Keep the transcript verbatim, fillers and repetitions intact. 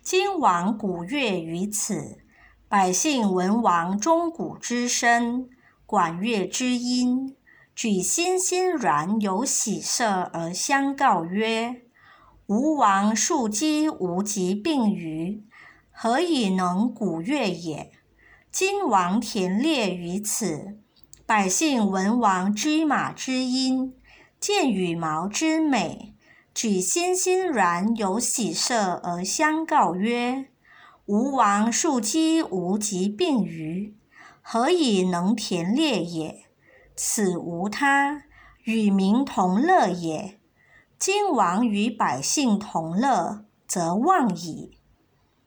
今王鼓乐于此，百姓闻王钟鼓之声，管乐之音，举欣欣然有喜色而相告曰：吴王庶几无疾病于，何以能鼓乐也？今王田猎于此，百姓闻王车马之音，见羽毛之美，举欣欣然有喜色而相告曰：吴王庶几无疾病于，何以能田猎也？此无他，与民同乐也。今王与百姓同乐，则忘矣。